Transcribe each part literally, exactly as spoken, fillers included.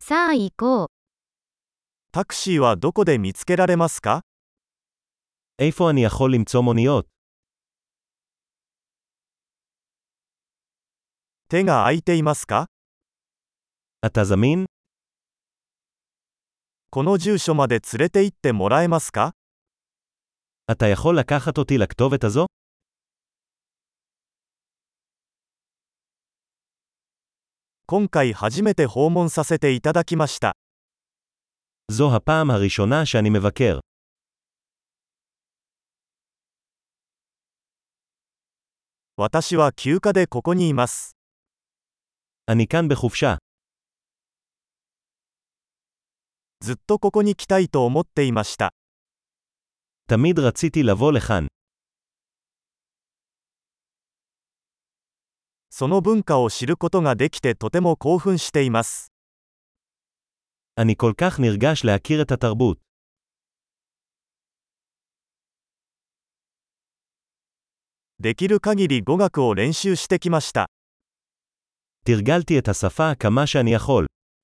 さあ行こう。 タクシーはどこで見つけられますか？ איפה אני יכול למצוא מוניות? 手が空いていますか？ אתה זמין? この住所まで連れて行ってもらえますか？ אתה יכול לקחת אותי לכתובת הזו? 今回初めて訪問させていただきました。 זו הפעם הראשונה שאני מבקר. 私は休暇でここにいます。 אני כאן בחופשה. ずっとここに来たいと思っていました。 תמיד רציתי לבוא לכאן. その文化を知ることができてとても興奮しています。 אני כל כך נרגש להכיר את התרבות. できる限り語学を練習してきました。 תרגלתי את השפה כמה שאני יכול.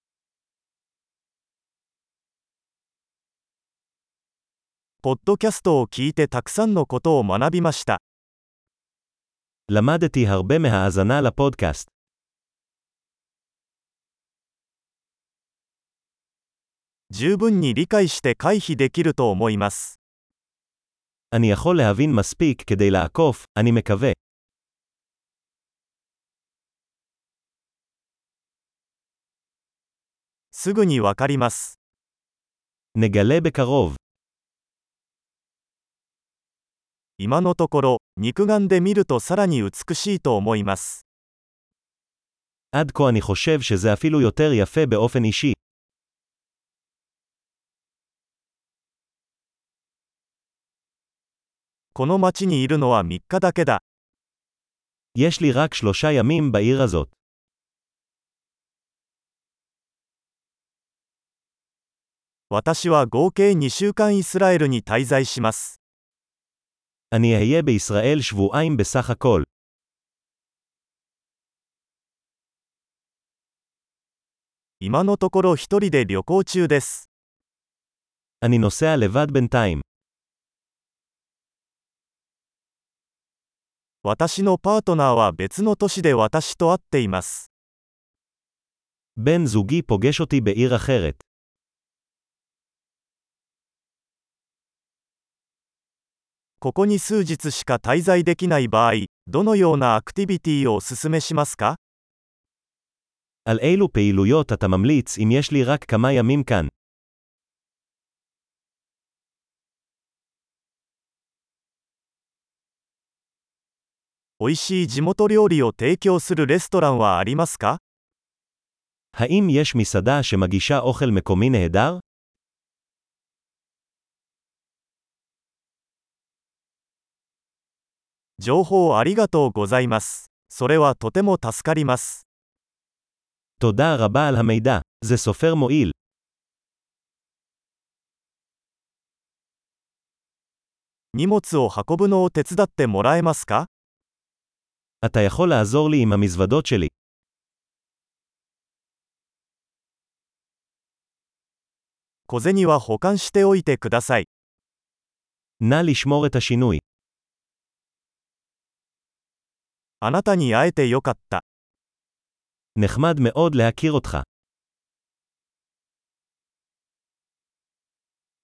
ポッドキャストを聞いてたくさんのことを学びました。 למדתי הרבה מהאזנה לפודקאסט. 十分に理解して回避できると思います。 אני יכול להבין מספיק כדי לעקוף, אני מקווה. すぐにわかります。 נגלה בקרוב. 今のところ、肉眼で見るとさらに美しいと思います。 עד כה אני חושב שזה אפילו יותר יפה באופן אישי. この町にいるのはみっかだけだ。 יש לי רק שלושה ימים בעיר הזאת. 私は合計にしゅうかんイスラエルに滞在します。 אני אהיה בישראל שבועיים בסך הכל. 今のところ一人で旅行中です。 אני נוסע לבד בינתיים. 私のパートナーは別の都市で私と会っています。 בן זוגי פוגש אותי בעיר אחרת. ここに数日しか滞在できない場合、どのようなアクティビティをお勧めしますか？ על אילו פעילויות אתה ממליץ אם יש לי רק כמה ימים כאן? おいしい地元料理を提供するレストランはありますか？ האם יש מסעדה שמגישה אוכל מקומי נהדר? 情報ありがとうございます。それはとても助かります。 תודה רבה על המידע, זה סופר מועיל. 荷物を運ぶのを手伝ってもらえますか？ אתה יכול לעזור לי עם המזוודות שלי. 小銭は保管しておいてください。 נא לשמור את השינוי. あなたに会えてよかった。 נחמד מאוד להכיר אותך.